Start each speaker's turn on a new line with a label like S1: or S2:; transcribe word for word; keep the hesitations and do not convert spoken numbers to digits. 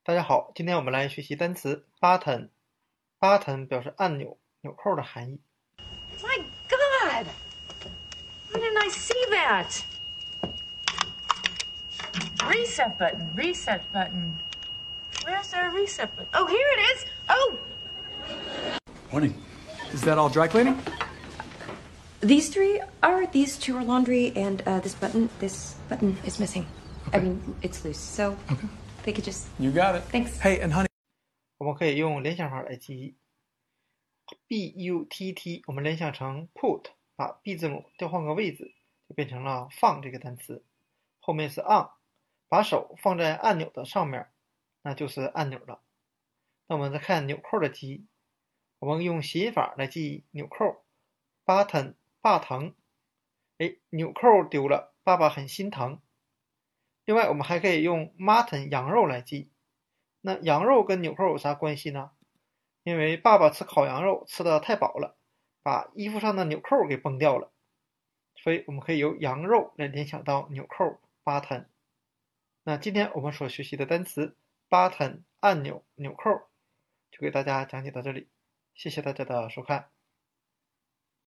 S1: 大家好，今天我们来学习单词 button。button 表示按钮、纽扣的含义。
S2: My God! Why didn't I see that? Reset button, reset button. Where's our reset button? Oh, here it is. Oh!
S3: Morning. Is that all dry cleaning?
S4: These three are, these two are laundry, and uh, this button, this button is missing.
S3: Okay.
S4: I mean, it's loose, so
S3: Okay.
S4: they could just...
S3: You got it.
S4: Thanks.
S3: Hey, and honey.
S1: 我们可以用联想法来记忆。B U T T 我们联想成 put， 把 B 字母调换个位置，就变成了放这个单词。后面是 on， 把手放在按钮的上面，那就是按钮了。那我们再看纽扣的记忆，我们用谐音法来记忆纽扣 button 爸疼。哎，纽扣丢了，爸爸很心疼。另外我们还可以用 mutton 羊肉来记忆。那羊肉跟纽扣有啥关系呢？因为爸爸吃烤羊肉吃的太饱了，把衣服上的纽扣给崩掉了，所以我们可以由羊肉来联想到纽扣 button。 那今天我们所学习的单词 button 按钮、纽扣就给大家讲解到这里，谢谢大家的收看。